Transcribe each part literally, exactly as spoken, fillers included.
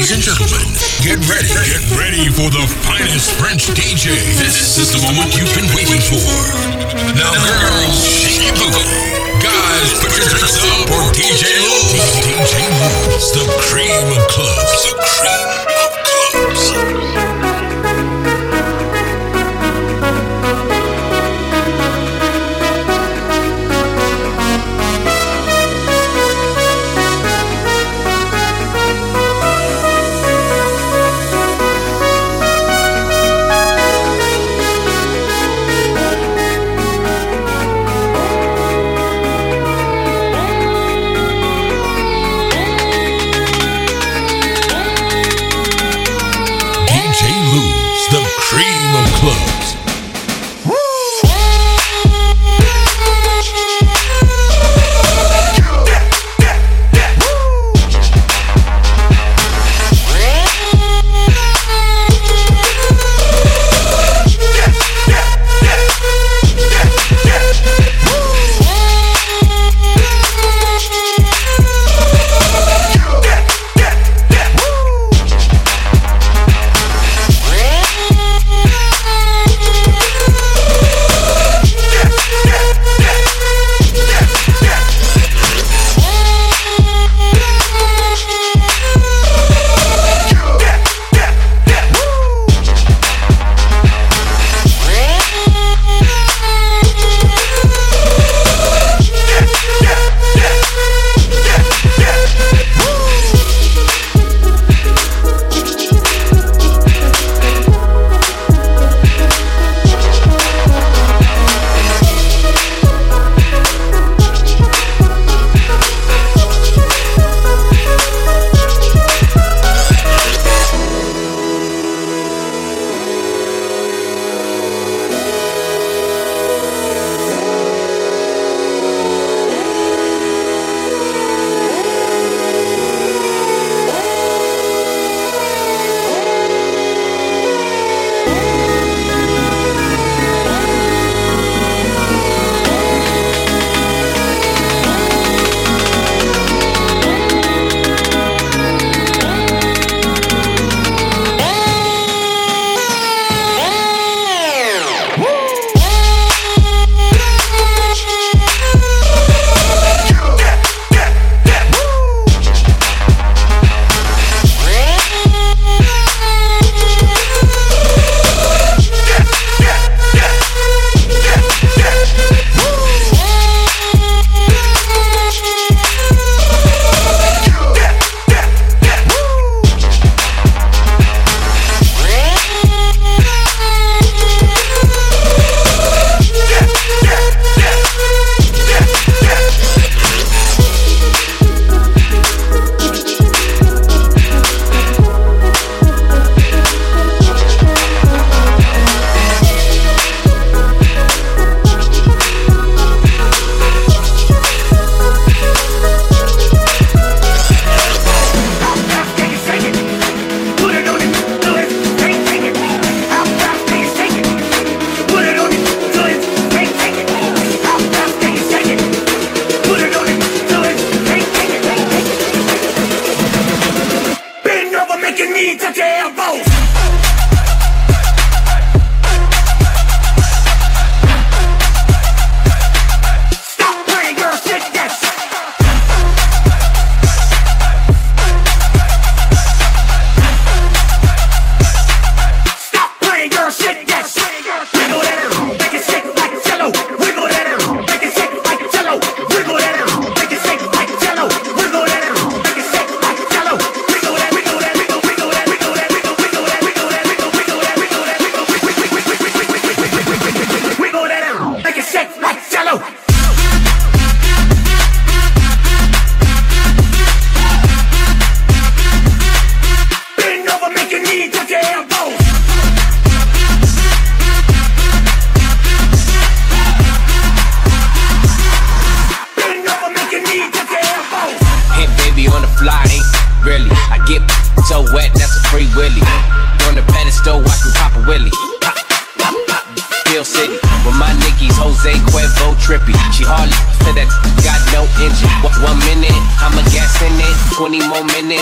Ladies and gentlemen, get ready, get ready for the finest French D J. This is the moment you've been waiting for. Now, girls, shake your booty. Guys, put your drinks up for D J Lou. D J Lou's the cream of clubs. The cream of clubs.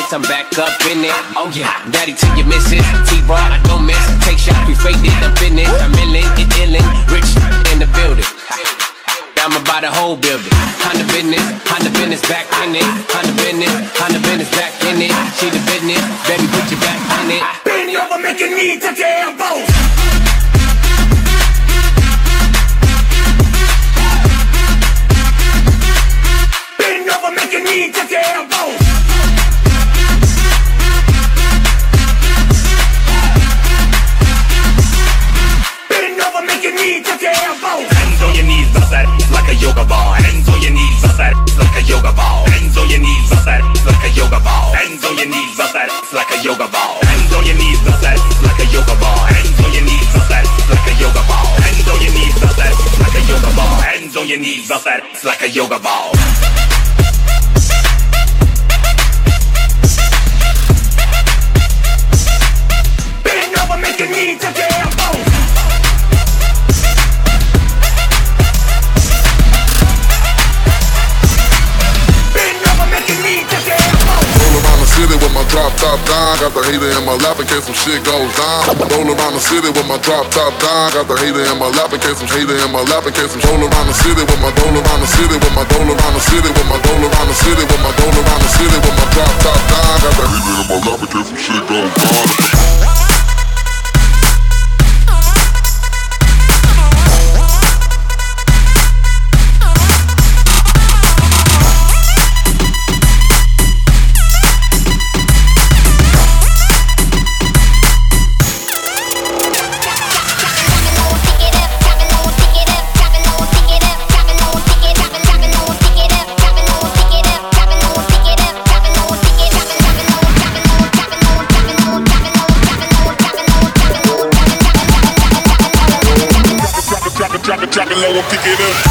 minutes, I'm back up in it. Oh yeah, daddy to your missus, T-Raw, I don't miss. Take shots, we faked it, I'm finished. I'm illin', it illin', rich in the building. I'm about the whole building. Honda business, Honda business back in it. Honda business, Honda business back in it. She the business, baby put your back in it. Bend over, make your knee touch your elbows. Bend over, make your knee touch your elbows. Bend over, make your knee touch your elbows. Hands on your knees, bust that like a yoga ball. Hands on your knees, bust that like a yoga ball. Hands on your knees, bust that like a yoga ball. Hands on your knees, bust that like a yoga ball. Hands on your knees, bust that like a yoga ball. Hands on your knees, bust that like a yoga ball. Hands on your knees, bust that like a yoga ball. Hands on your knees, bust that like a yoga ball. Bend over, make your knees touch your elbows. City with my drop top down, got the hater in my lap in case some shit goes down. Roll around the city with my drop top down, got the hater in my lap in case some hater in my lap in case some roll around the city with my roll around the city with my roll around the city with my roll around the city with my roll around the city with my drop top down, got the hater in my lap in case some shit goes down. Drop it low and pick it up.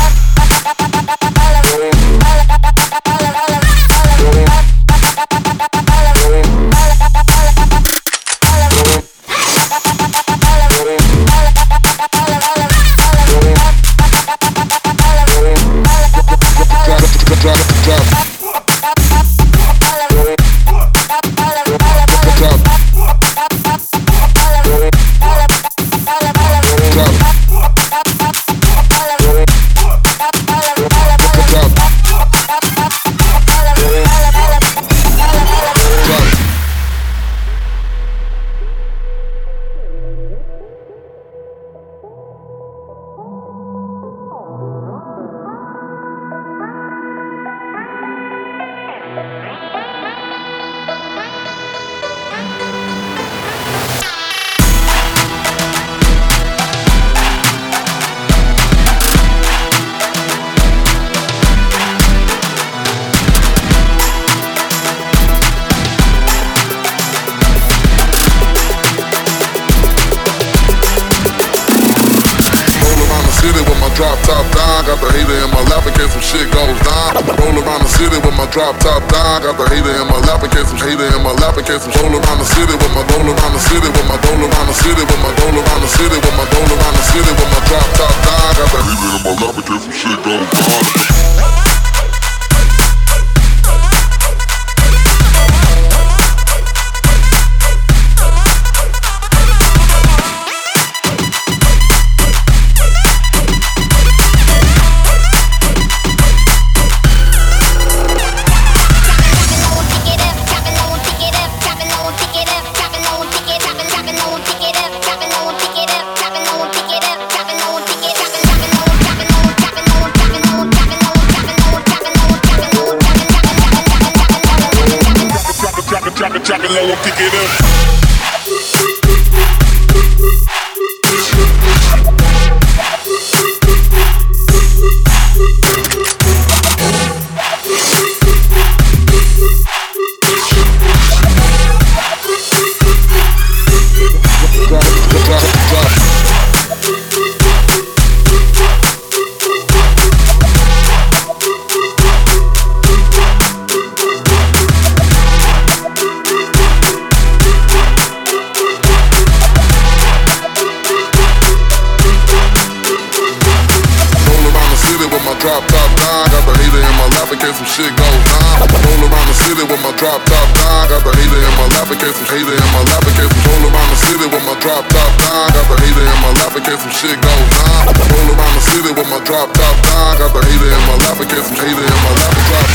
Drop top down, got the hater in my lap in case some shit goes down. Roll around the city with my drop top down, got the hater in my lap in case some hater in my lap in case some roll around the city with my roll around the city with my roll around the city with my roll around the city with my roll around the city with my drop top down, got the hater in my lap in case some shit goes down. Drop it low and pick it up. Drop top down, got the hater in my lap in case some shit goes down. Roll around the the city with my drop top down. Got the hater in my lap in case some hater in my lap in case some. Roll around the city with my drop top down. Got the hater in my lap in case some shit goes down. Roll around the city with my drop top down. Got the hater in my lap in case some hater in my lap and drop.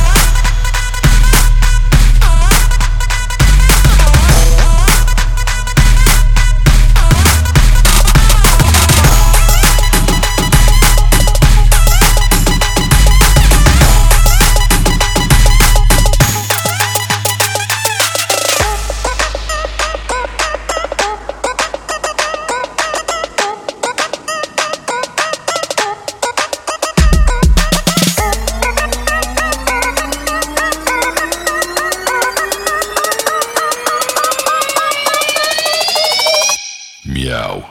Meow.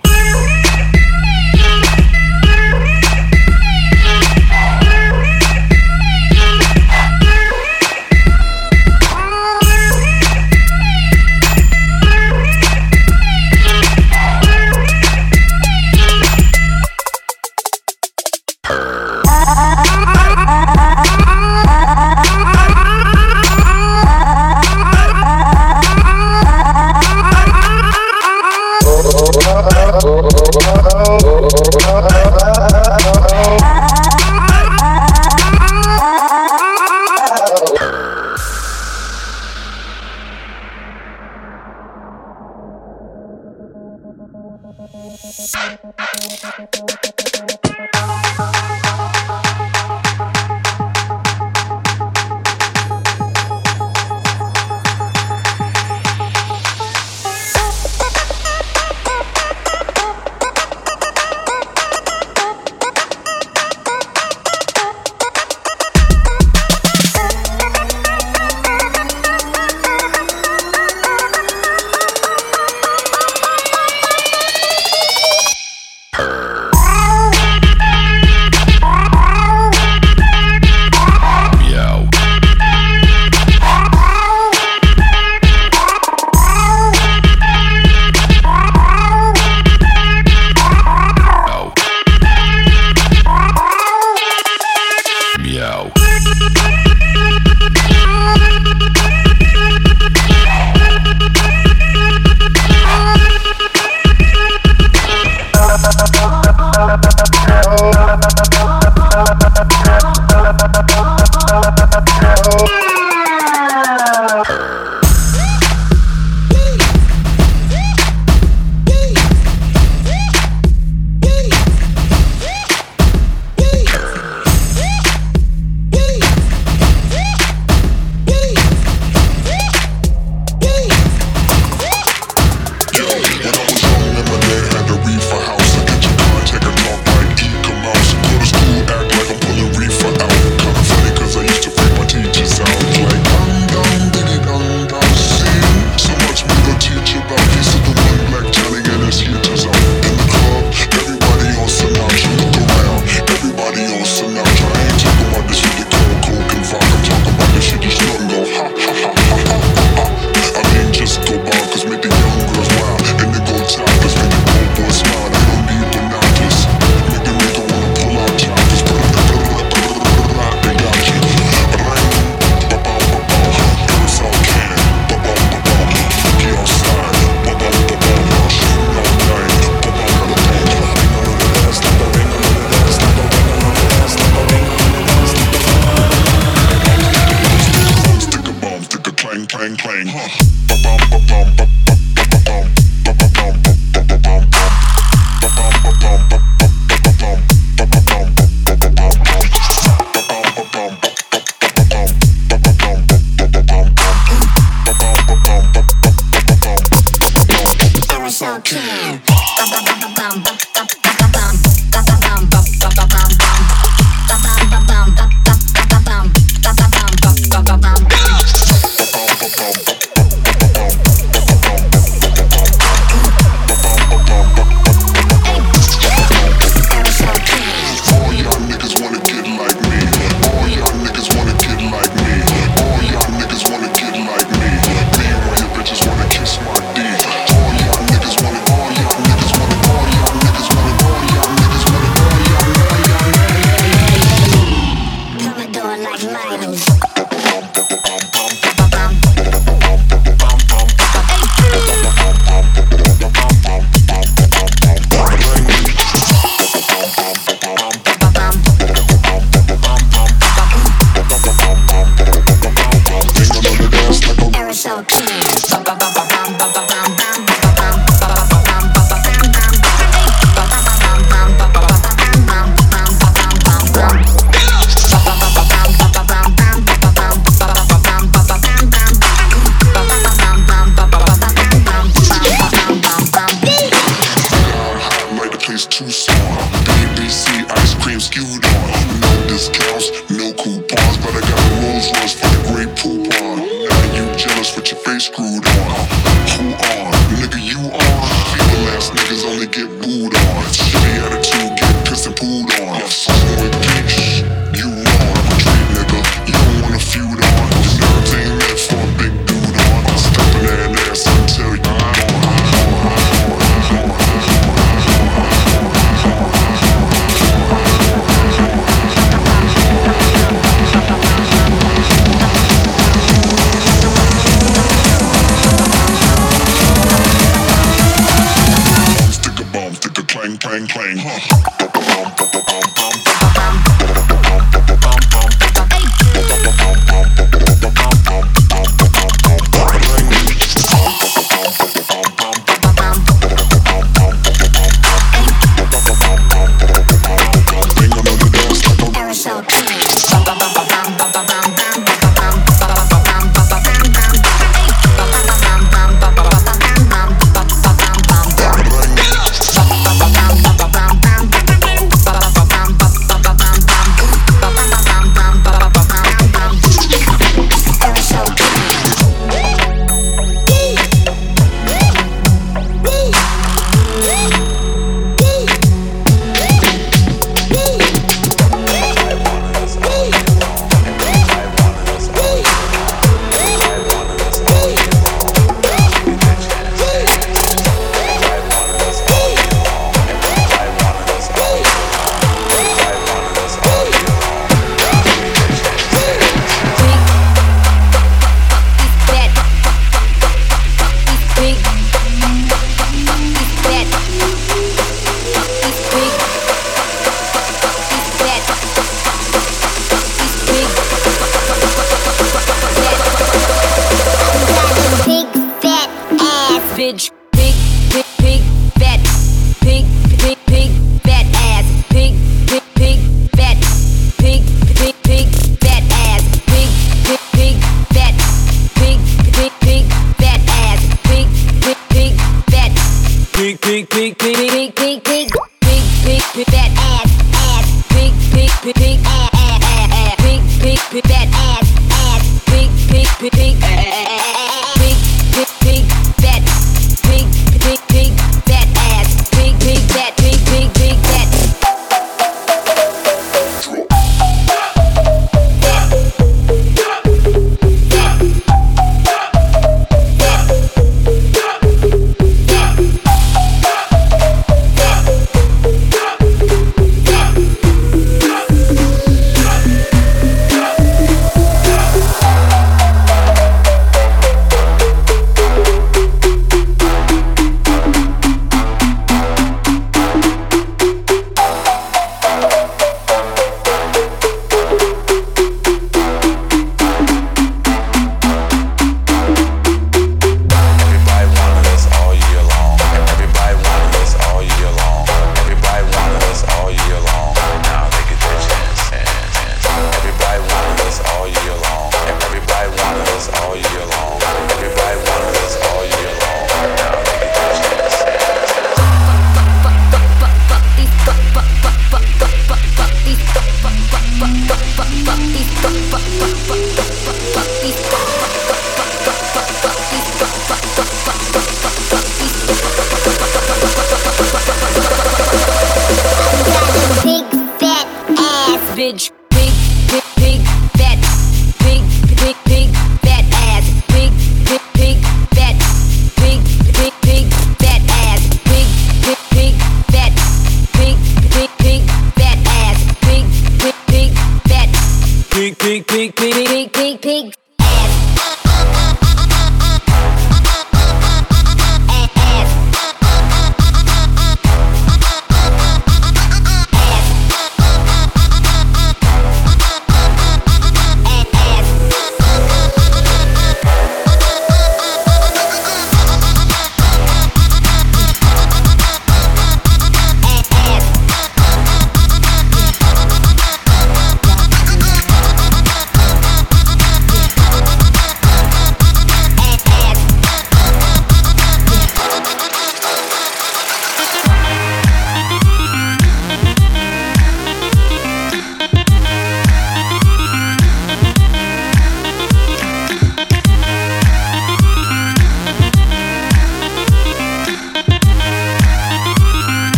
big, big, big, big, big, big, big, big,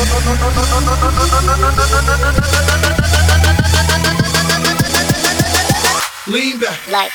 Lean back. Like.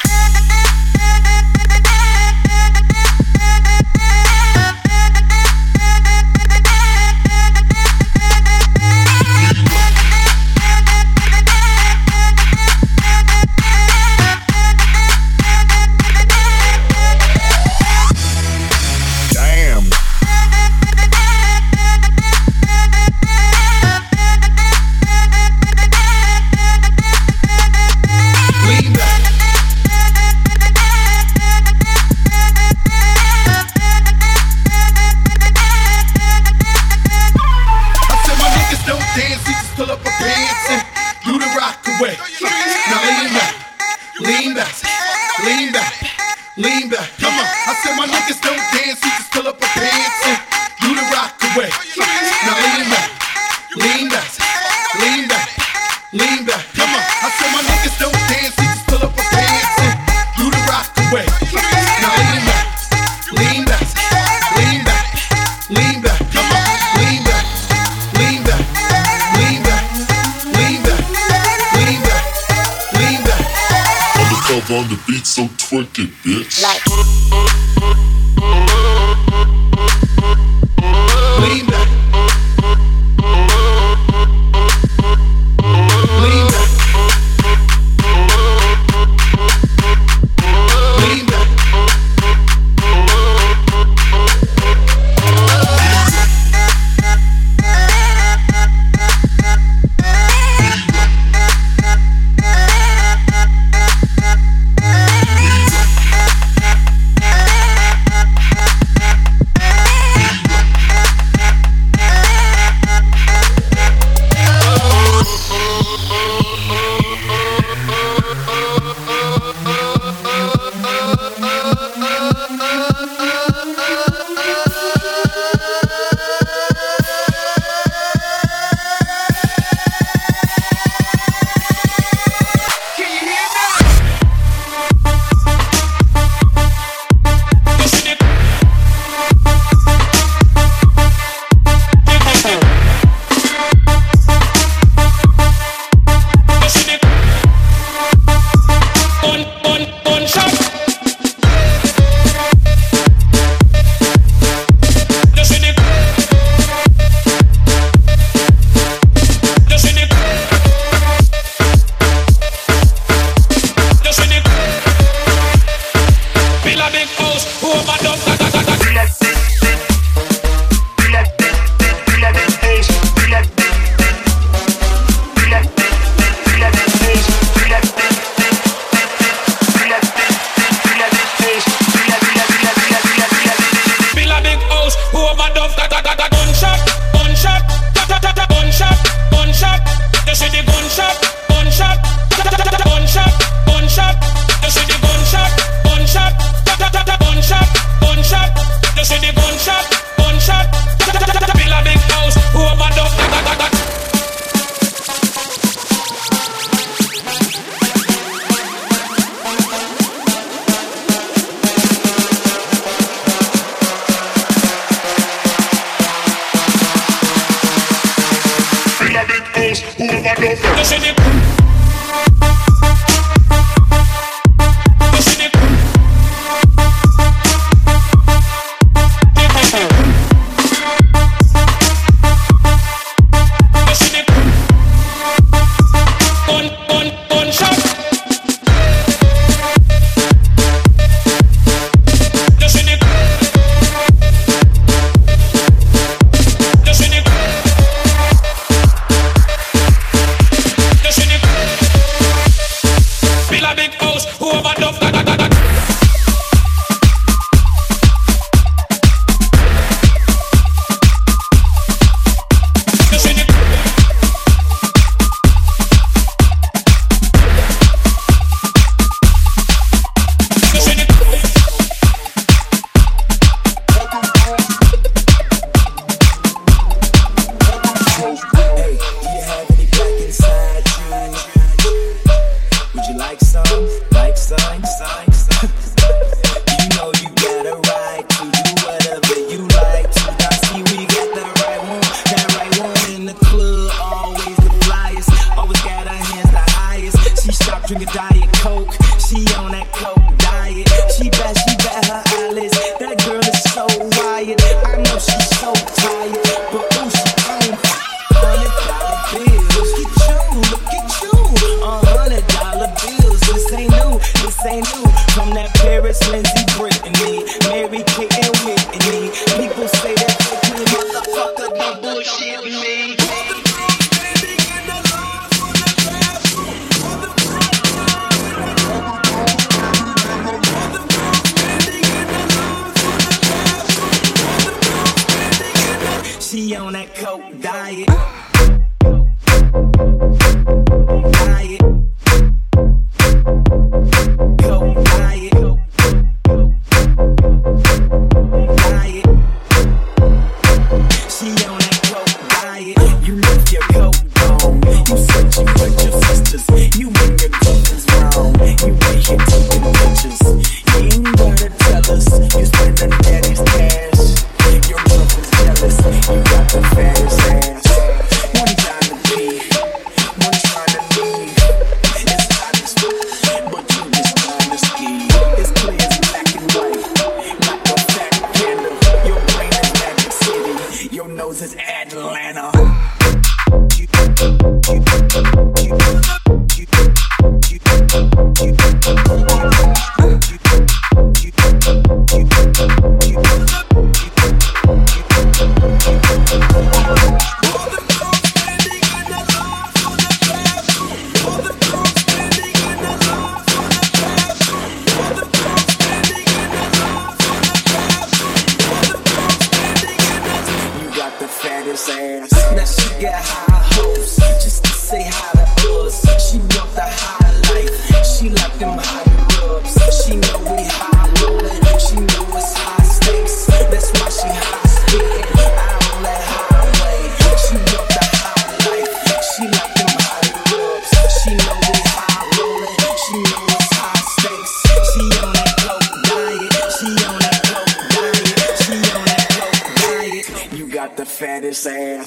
On the beat, so twerk it, bitch. Like. Lean back. Lean back. Lean back. Just in the She on that coke diet. Diet. Coke diet. Diet. She on that coke diet. You left your coat on. You searching for your sisters. You and your girlfriend's wrong. You ain't here taking pictures. You ain't gotta tell us. You spending daddy's cash. Your girlfriend's jealous. You got the fattest ass. One time to be, one trying to leave. It's hot as fuck, but you just trying to ski. It's clear as black and white, like a fat candle. Your brain is Magic City, your nose is Atlanta. You, you, you, you, ass. Now she got high hopes just to say hi to us. She want the high life. She like them high rubs. She know we high rolling. She know it's high stakes. That's why she high speeding out on that highway. She want the high life. She like them high rubs. She know we high rolling. She know it's high stakes. She on that coke diet. She on that coke diet. She on that coke diet. You got the fattest ass.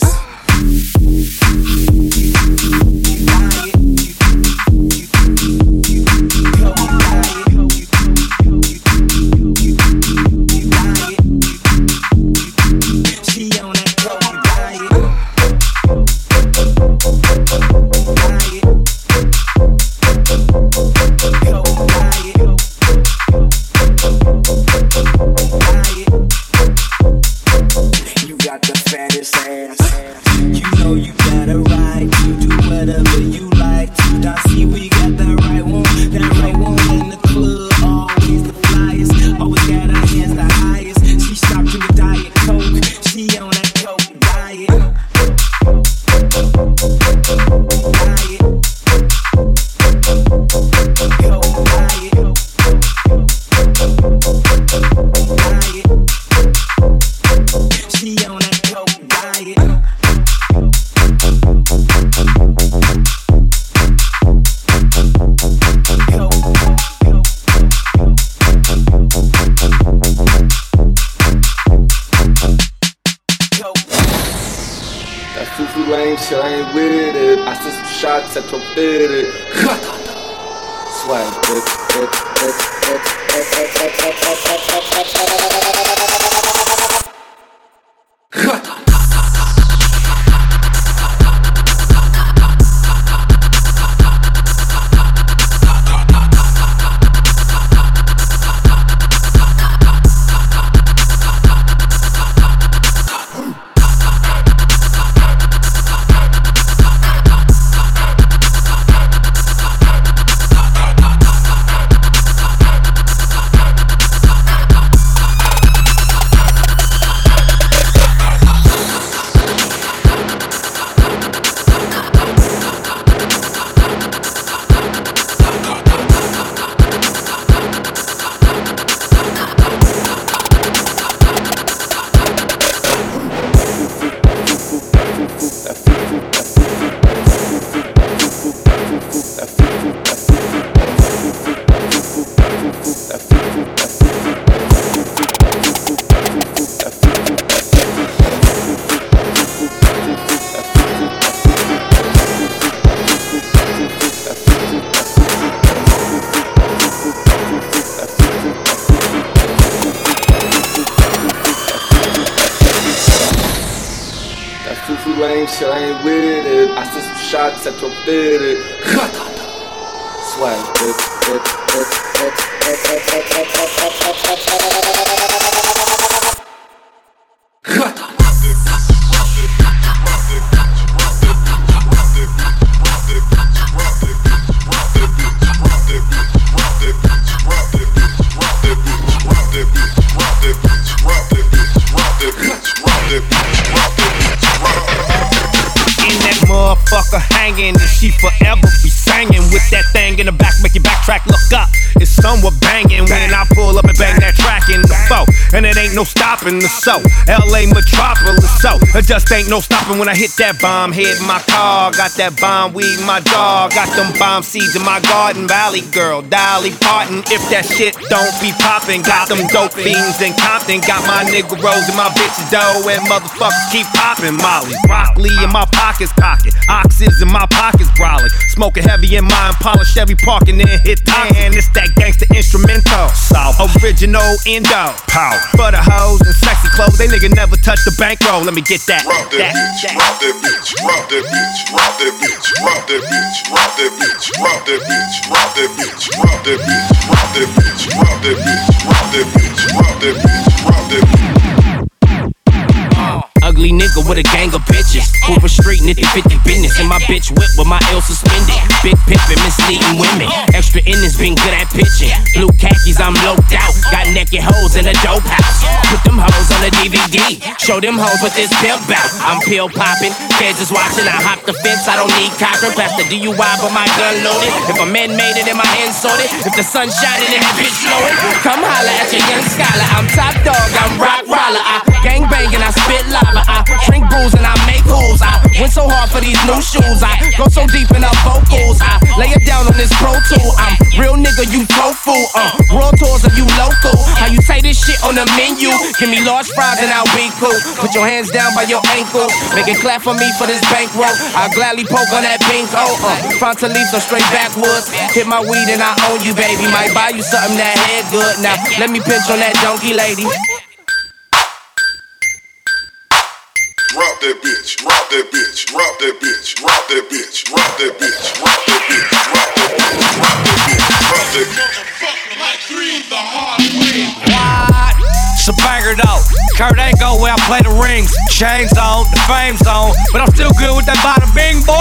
Shit, I ain't with it. I sent some shots at your fitted. Swag, shit, I ain't with it. I sent some shots at your fitted. Swag, motherfucker hanging, and she forever be singing with that thing in the back, make your backtrack look up. It's somewhat banging when I pull up and bang that track in the foe, and it ain't no stopping the show. L A metropolis, so it just ain't no stopping when I hit that bomb head in my car. Got that bomb weed in my dog, got them bomb seeds in my garden. Valley girl, Dolly Parton, if that shit don't be poppin'. Got them dope fiends in Compton, got my nigga Rose and my bitches dough, and motherfuckers keep poppin'. Molly, broccoli in my pockets, pocket, oxys in my pockets, brolic. Smoking heavy in my Impala Chevy, parking in hit and it's that gangsta instrumental. South original endo, power for the hoes and sexy clothes. They nigga never touch the bankroll. Let me get that. Rock that, that bitch, that. rock that bitch, rock that bitch, rock that bitch, rock that bitch, rock that bitch, rock that bitch, rock that bitch, rock that bitch, rock that bitch, rock that bitch, rock that bitch, rock that bitch, rock that bitch. Ugly nigga with a gang of bitches. Hoover Street, nitty fifty business. And my bitch whip with my L suspended. Big pimpin', misleading women. Extra innings, been good at pitching. Blue khakis, I'm loped out. Got naked hoes in a dope house. Put them hoes on a D V D. Show them hoes what this pimp bout. I'm pill popping, feds is watching. I hop the fence, I don't need cocker. Pass the D U I, but my gun loaded. If a man made it and my hand sorted. If the sun shining and that bitch blowing. Come holla at your young scholar. I'm top dog, I'm rock roller. I gang bang and I spit lava. I drink booze and I make holes. I went so hard for these new shoes. I go so deep in our vocals. I lay it down on this pro tool. I'm real nigga, you tofu. Uh, world tours are you local? How you say this shit on the menu? Give me large fries and I'll be cool. Put your hands down by your ankle. Make it clap for me for this bankroll. I'll gladly poke on that pink hole. Uh, Frontal leaves are straight backwoods. Hit my weed and I own you, baby. Might buy you something that head good. Now let me pinch on that donkey lady. Rock that bitch, rock that bitch, rock that bitch, rock that bitch, rock that bitch, rock that bitch, rock that bitch, rock that bitch, rock that bitch. Like three the hard way. What? It's a banger though. Kurt Angle where I play the rings. Chains on, the fame's on, but I'm still good with that bada bing, boy.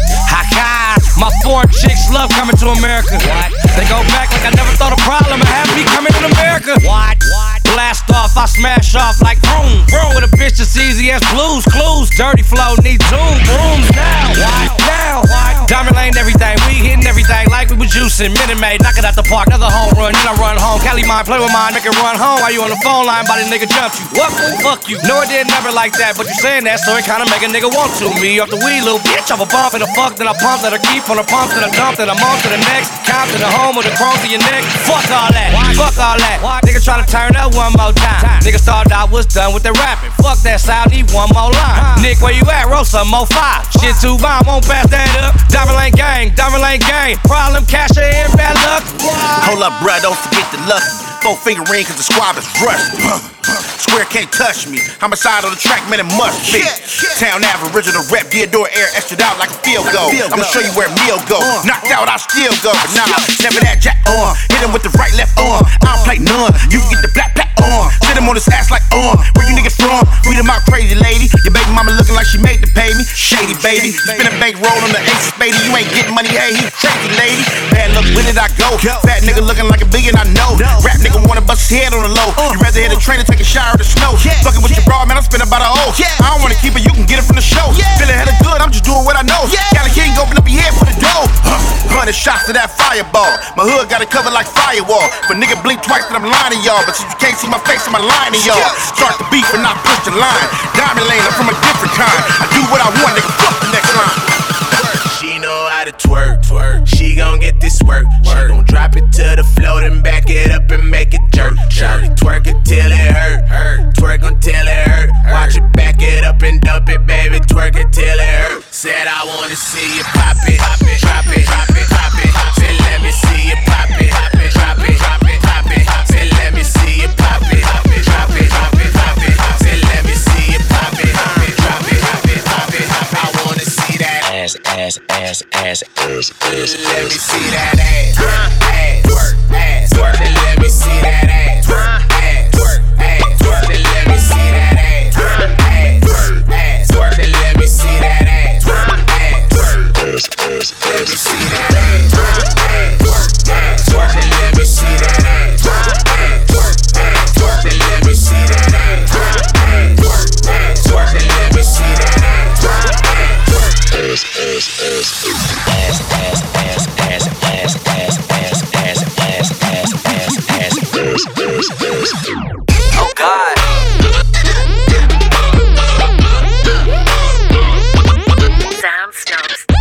Ha-ha, my foreign chicks love coming to America. What? They go back like I never thought a problem of having me coming to America. What? What? Blast off, I smash off like vroom, vroom. With a bitch that's easy as blues, clues. Dirty flow, need zoom, rooms now. What? Now, what? Diamond Lane, everything. We hitting everything like we was juicing. Minute Maid, knock it out the park. Another home run, then I run home. Cali mine, play with mine, make it run home. While you on the phone line, body nigga jumped you. What? Fuck you. No, it didn't never like that, but you saying that, so it kinda make a nigga want to. Me off the weed, little bitch. I'm a bump and a fuck, then I pump, then I keep on the pump, then I dump, then I'm on to the next. Count to the home with the chrome to your neck. Fuck all that. What? Fuck all that. What? Nigga try to turn up one more time. time. Nigga thought I was done with the rapping. Fuck that style, need one more line. Uh. Nick, where you at? Roll some more five. What? Shit too bomb, won't pass that up. Diamond Lane gang, Diamond Lane gang. Problem, cash in, bad luck. What? Hold up, bruh, don't forget the lucky. Four finger ring, cause the squab is rusty. Square can't touch me. Homicide on the track, man, it must be. Town Ave, original rep, Theodore air, extra out like a field goal. I'ma show you where meal go. Knocked out, I still go. But nah, never that jack on. Hit him with the right, left arm. I don't play none. You can get the black, black on. Sit him on his ass like on. Where you niggas from? Read him out, crazy lady. Your baby mama looking like she made to pay me. Shady, baby. Spin a bank roll on the ace, baby. You ain't getting money, hey, he crazy, lady. Bad luck, where did I go? Fat nigga looking like a billion, I know. Rap nigga wanna bust his head on the low. You rather hit a train and take a shower in the snow. Fucking with your bra, man, I spend about a hoe. I don't wanna keep it, you can get it from the show. Feeling hella good, I'm just doing what I know. Cali King, open up your head for the dough. Hundred shots to that fireball. My hood got it covered like firewall. But nigga blink twice that I'm lying to y'all. But since you can't see my face, I'm lying to y'all. Start the beef and not push the line. Diamond Lane, I'm from a different kind. I do what I want, nigga, fuck the next line. She know how to twerk, twerk. She gon' get this work. She gon' drop it to the floor, then back it up and make it jerk. Shawty twerk it till it hurt, hurt. Twerk until it hurt. Watch it back it up and dump it, baby. Twerk it till it hurt. Said I wanna see you pop it, pop it, drop it, drop it, pop it. Said let me see you pop it, pop it, drop it, drop it, pop it. Said let me see you pop it, pop it, drop it, drop it, pop it. Said let me see you pop it, pop it, drop it, drop it, pop it. I wanna see that ass, ass, ass, ass, ass, ass. Let me see that ass, ass, twerk, ass, twerk. Then let me see that ass, ass, twerk, ass, twerk. Then let me see that ass, ass, twerk, ass, twerk. Then let me see that ass, ass, twerk, ass, ass. Let me see that ass, ass, twerk, ass, twerk. Then let me see that ass, ass, twerk, ass, twerk. Then let me see that ass, ass, twerk, ass, twerk. Then let me see that ass, ass, twerk, ass, twerk. Oh God. Soundstones.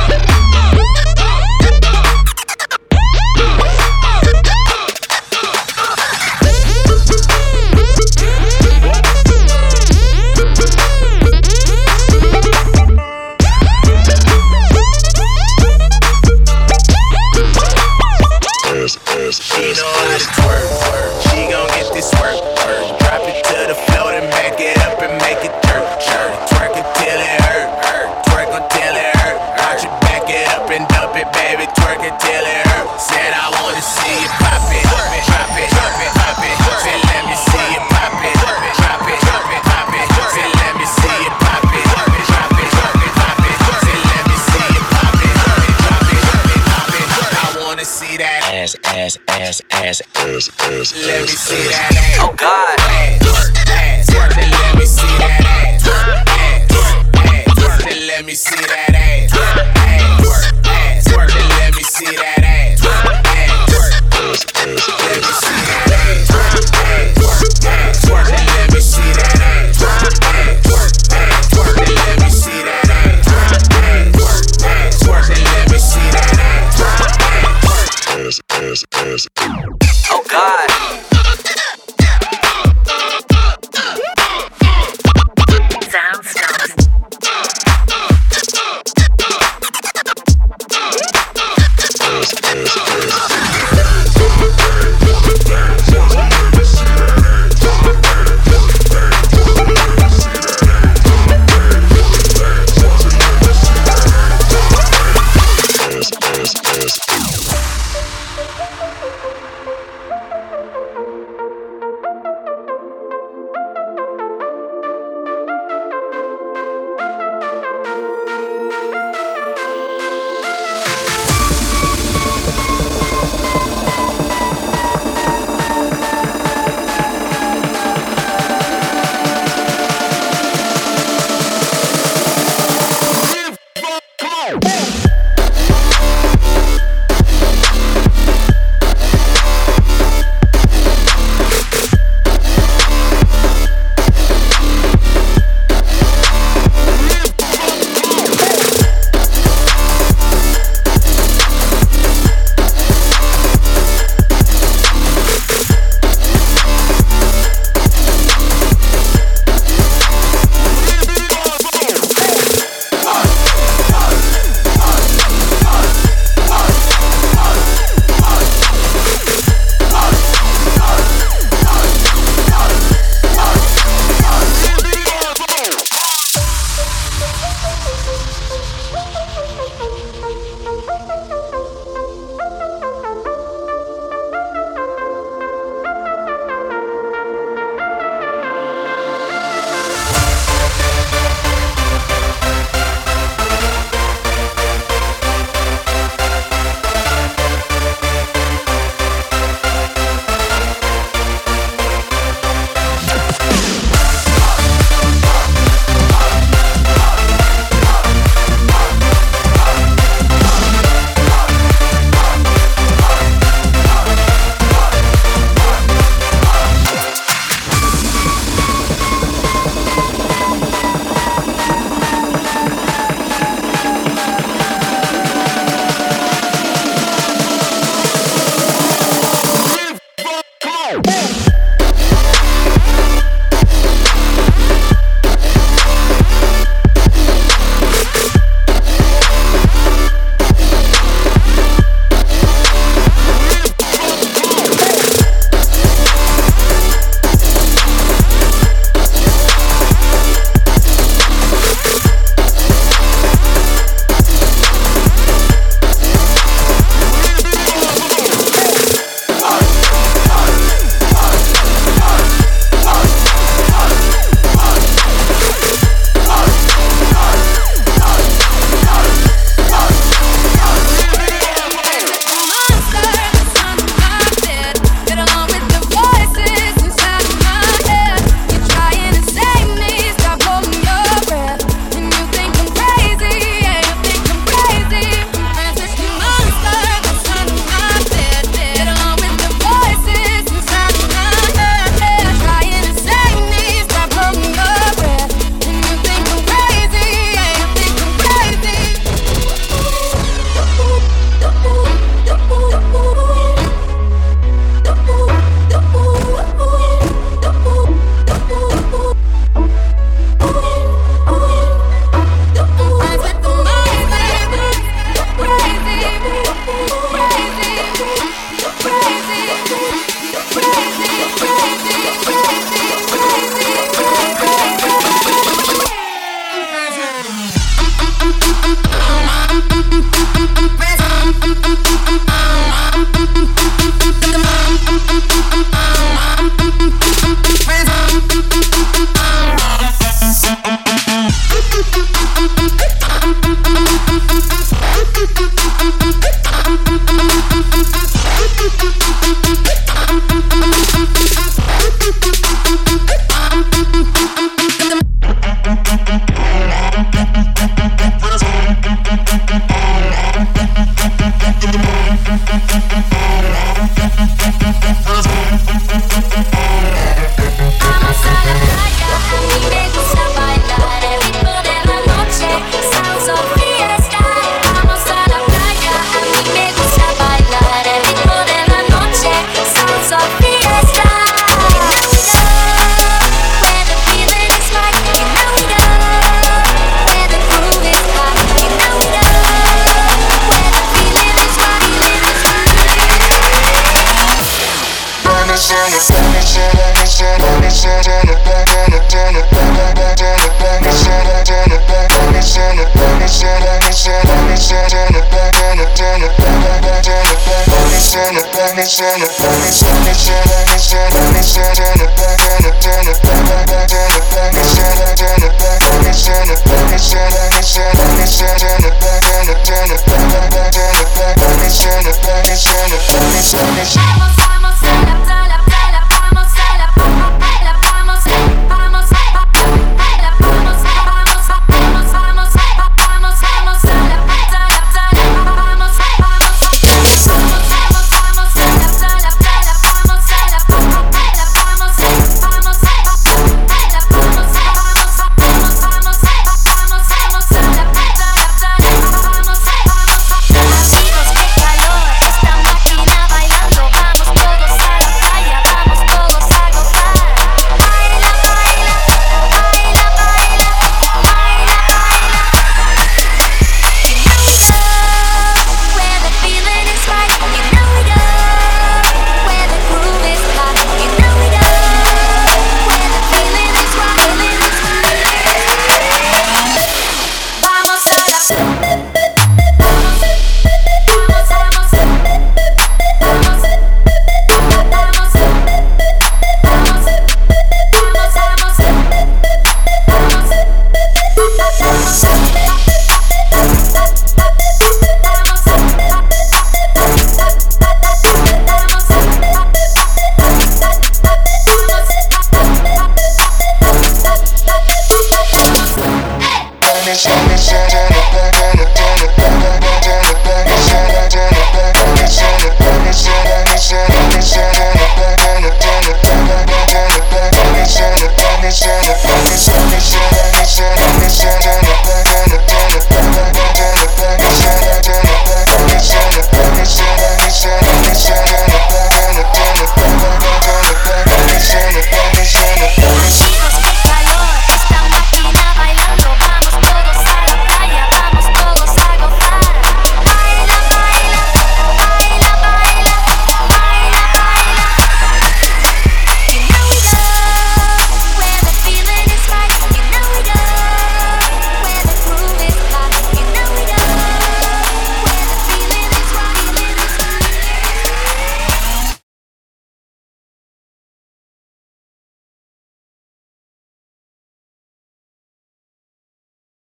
She know how to twerk, twerk. She gon' get this work, work. Drop it to the floor, then back it up and make it dirt, dirt. Twerk it till it hurt, hurt. Twerk until it hurt. Watch it, back it up and dump it, baby. Twerk it till it hurt. Said I wanna see you pop it, drop it, drop it, pop it. Said let me see you pop it, drop it, drop it, pop it. Said let me see you pop it, drop it, drop it, pop it. Said let me see you pop it, drop it, drop it, pop it. I wanna see that ass, ass, ass, ass, ass, ass. Let me see that ass. Oh God. Ass, ass. Then let me see that ass. Ass, ass. Then let me see that ass. Ass, ass. Then let me see that ass. Ass, let me see that ass. Ass, then let me see that ass. Ass, then let me see that ass. Ass, then let me see that ass. Ass, ass, ass. Oh God. Soundstones. Sana